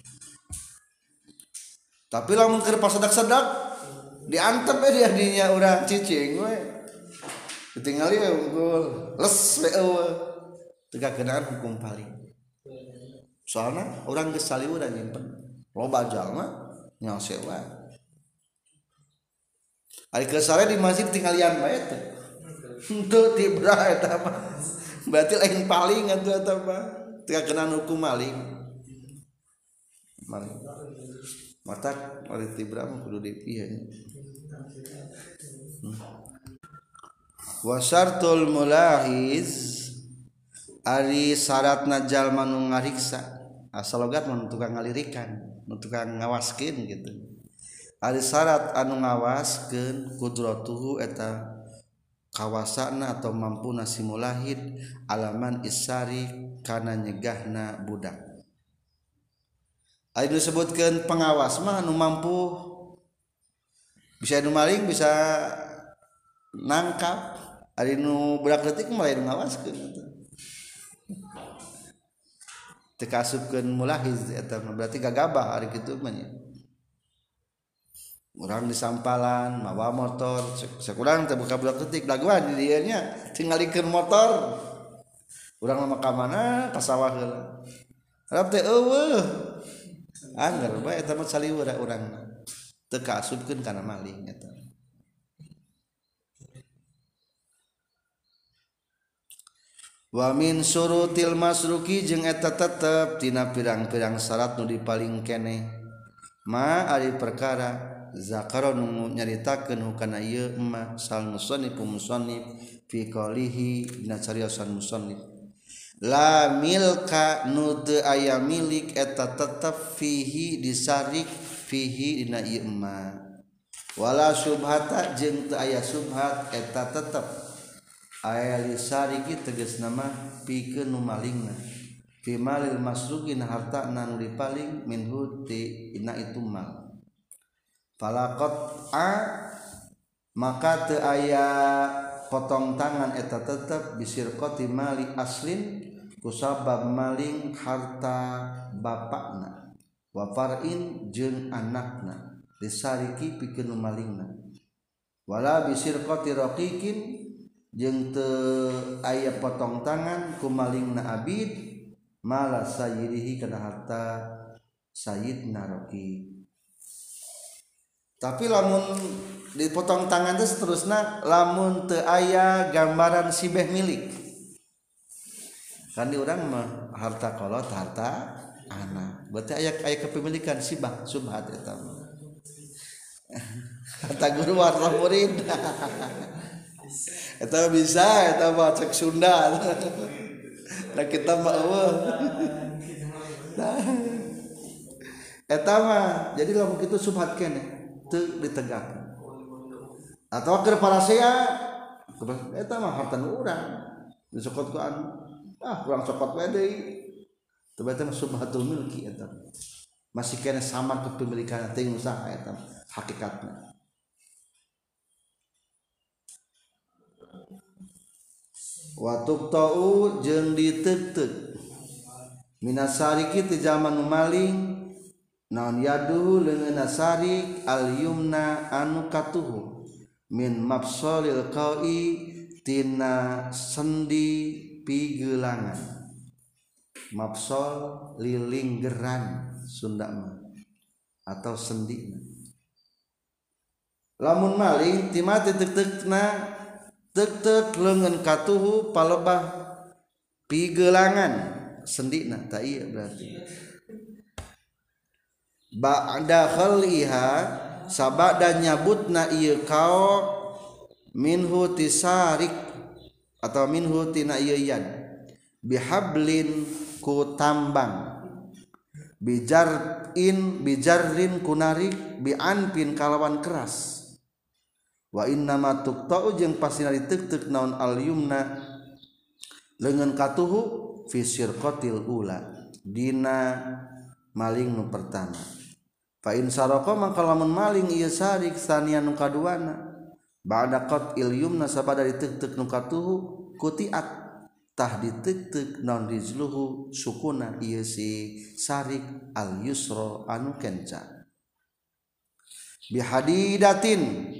tapi lamun keur pasedak-sedak diantep dia dinya urang cicing we ditinggali we unggul les we teu kakenaan hukum paling soalna urang geus saliweuran nyimpen loba jalma nyaho sewa ari keur sare di masjid tinggalian bae teh henteu tibra eta mah berarti lain paling atuh eta mah teu kakenaan hukum maling matak ari tibra mah kudu dipieun wa syartul mulahiz ari syaratna jalma nu ngariksa asal logat mah tukang ngalirikan nu tukang ngawaskeun gitu ari syarat anu ngawaskeun qudratuhu eta kawasana atau mampuna si mulahid alaman isari kana nyegahna budak ari disebutkeun pengawas mah anu mampu bisa nu maling bisa nangkap ari nu budak leutik mah lain ngawaskeun teu kasupkeun mulahiz eta berarti gagabah ari kitu mah nya urang di sampalan mawa motor sakurang teh buka budak leutik daguan di dieu nya tinggalikeun motor urang mah ka mana ka sawah heula harap teh eueuh anggar bae eta mah saliweur urangna teu kasupkeun kana maling eta wa min surutil masruki jeung eta tetep tina pirang-pirang syarat nu dipaling keneh ma ari perkara zakara nu nyaritakeun hukana ieu emma sal musannif fi qalihi dina cariosan musannif la milka nu teu aya milik eta tetep fihi disarik fihi dina ieu emma wala subhata jeung teu aya subhat eta tetep aya lisariki tegasna mah pikeun nu malingna fi malil masrukin harta nu dipaling minhu ti ina itu mal falaqat maka teu aya potong tangan eta tetep bisirqati mali aslin kusabab maling harta bapakna wa far'in jeung anakna lisariki pikeun nu malingna wala bisirqati raqiqin jeung teu aya potong tangan ku malingna abid mala sayyidihi kana harta sayyidna raqi tapi lamun dipotong tangan teh seterusna lamun teu aya gambaran sibeh milik kan di urang mah harta kolot harta anak berarti aya kepemilikan sibah subhat eta harta guru harta murid eta bisa eta mah cek Sunda da kita mah eueuh eta mah jadi lamun kitu subhat keneh teu ditegakkeun atawa keur parasea eta mah harta nu urang disokot ku anu urang sokot we deui teu eta mah subhatul milki eta masih keneh sama kepemilikan teh usaha eta hakikatna wa tuqta'u jeung diteuteup minasariki ti zaman nu maling naon yadu leungeunna sarik al yumna anu katuhu min mafsalil qa'i tina sendi pigelangan. Mafsal lilinggeran Sunda mah atau sendi. Lamun maling timati tek-tekna tek-tek leungeun katuhu palebah pigelangan sendina ta ieu berarti ba'da khaliha sabada nyabutna ieu kao minhu tisarik atau minhu tina ieu yan bihablin ku tambang bijarrin kunarik bianpin kalawan keras wa innama tuqta'u jeung pasina ditek-tek naon al yumna leungeun katuhu fi sirqatil ula dina maling nu pertama. Fa in saraqa mangka lamun maling ieu sarik sanian nu kaduana ba'da qatil yumna sabada ditek-tek nu katuhu kutiat tah ditek-tek naon rijluhu sukuna ieu si sarik al yusra anu kenca bihadidatin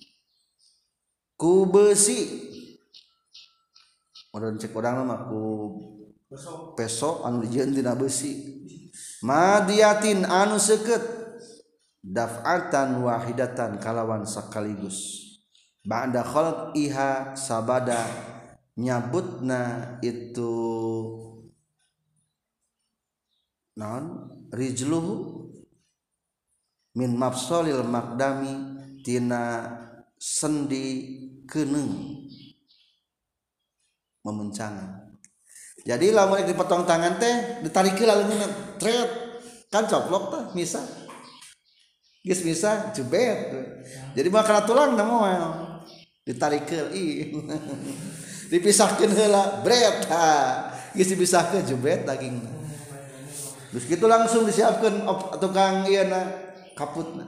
ku besi modern cek urang mah ku peso anu dijieun tina besi madiatin anu seukeut daf'atan wahidatan kalawan sakaligus ba'da khalqiha sabada nyabutna itu naon rijluhu min mafsalil maqdami tina sendi keneung memencangan. Jadi lamun dipotong tangan teh ditarikeun leungeunna tret kan coplok teh misa geus misa jebet jadi mah kana tulang na moal ditarikeun dipisahkeun heula bret geus dipisahkeun jebet dagingna terus kitu langsung disiapkeun tukang ieu na kaputna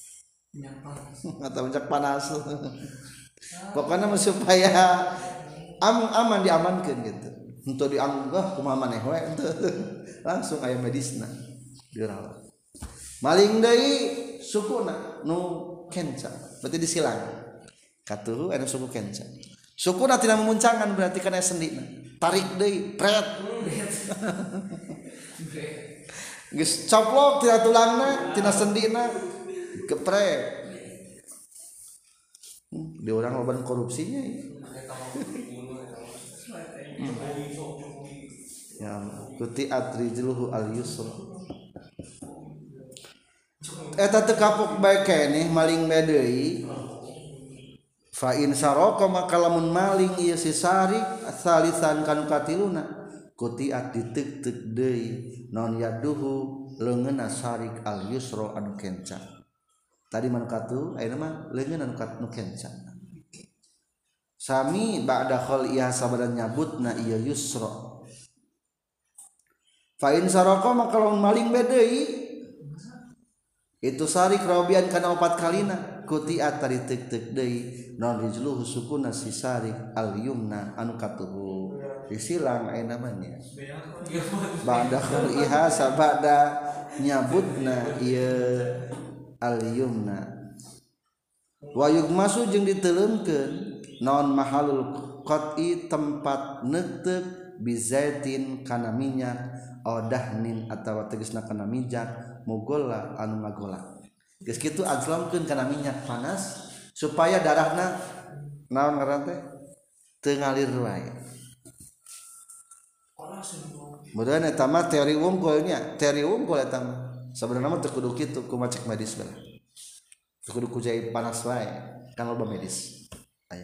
atau minyak panas pokoknya supaya aman diamankan gitu untuk dianggah kumaha maneh we langsung aya medisna dirawat maling deui sukuna nu kenca berarti disilang katuhu anu suku kenca sukuna tina memuncangan berarti kana sendina tarik deui pret geus coplok tina tulangna tina sendina geprek di orang loban korupsinya ya kutiat rijluhu al yusra eta teu kapok bae keneh maling deui fa in saraka maka lamun maling ieu si sarik salisan kanu katiluna kutiat ditek-tek deui non yaduhu leungeunna sarik al yusra anu kenca tadi manukatu ayeuna mah leungeun anu kenca sami ba'da khaliha sabada nyabutna ieu yusra fa in saraqa maka lamun maling deui itu sarik rabian kana 4 kalina kutiat tadi tek-tek deui non rijluhu sukuna si sarik al yumna anu katuhu disilang ayeuna mah nya ba'da khaliha sabada nyabutna ieu al yumna wa yugmasu jeung diteleumkeun naon mahalul qat'i tempat neuteuk bizaitin kana minyak dahnin atawa tegasna kana minyak mugolla anu ngagola geus kitu azlamkeun kana minyak panas supaya darahna naon ngaran teh teu ngalir wae mudahan eta mah teori unggulnya teori unggul eta mah sebenarnya mah teu kudu kitu kumaha cek medis bae teu kudu kujai panas wae kan loba medis aya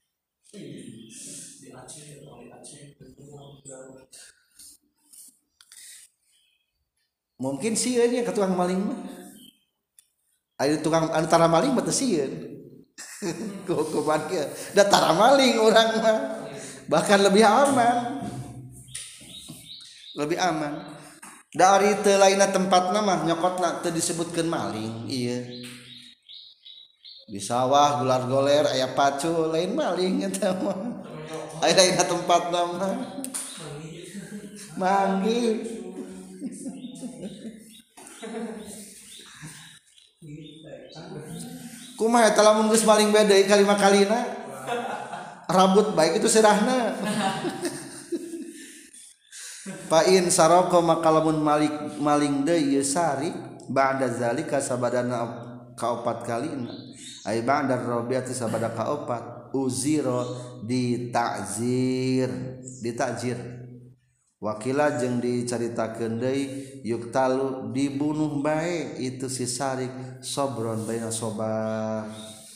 mungkin sieun nya ka tukang maling mah aya tukang antara maling mah teu sieun kumaha kieu da tara maling urang mah bahkan lebih aman dari teu lainna tempatna mah nyokotna teu disebutkeun maling ieu di sawah gular-goler aya pacu lain maling eta mah aya lainna tempatna mah manggih kumaha eta lamun geus maling beda kalima kalina rambut baik itu serahna fa in saroko maka lamun maling deui sari ba'da zalika sabadana kaopat kalina ai ba'da rabiati sabada kaopat uziro ditakzir wakila jeung dicaritakeun deui yuktalu dibunuh bae itu si sarik sobron baina sobar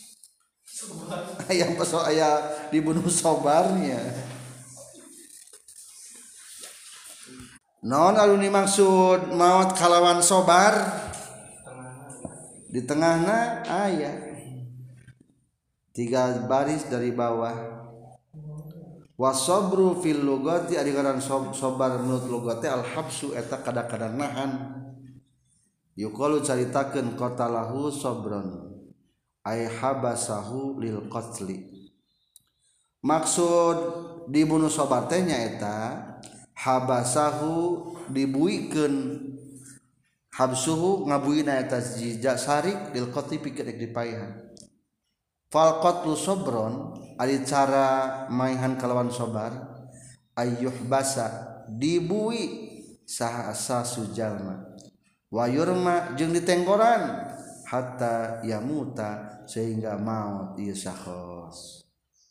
aya pasal aya dibunuh sobarnya naon aluni maksud maot kalawan sobar di tengahna aya 3 baris dari bawah wasobru fil lugati ari ngaran sobar menurut lugati al habsu eta kada-kada nahan yuqalu caritakeun qatalahu sobron ay habasahu lil qatli maksud dibunuh sobar teh nyaeta habasahu dibuikeun habsuhu ngabuina eta jija sarik lil qatli pikeun dipaihan fal qatlu sobron ari cara maihan kalawan sobar ayyuh basa dibui saha asasu jalma wa yurma jeung ditenggoran hatta yamuta sehingga maut ieu sakhos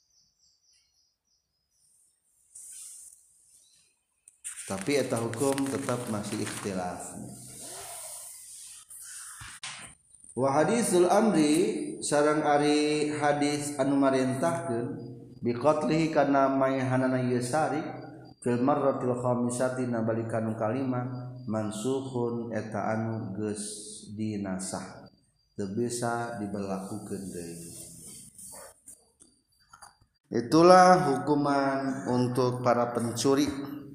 tapi eta hukum tetap masih ikhtilaf. Wa hadisul amri sareng ari hadis anu marentahkeun bi qatlihi kana mayhanana yasari fil marratil khamisati nabalikan kalima mansukhun eta anu geus dinasah teu bisa diberlakukeun deui. Itulah hukuman untuk para pencuri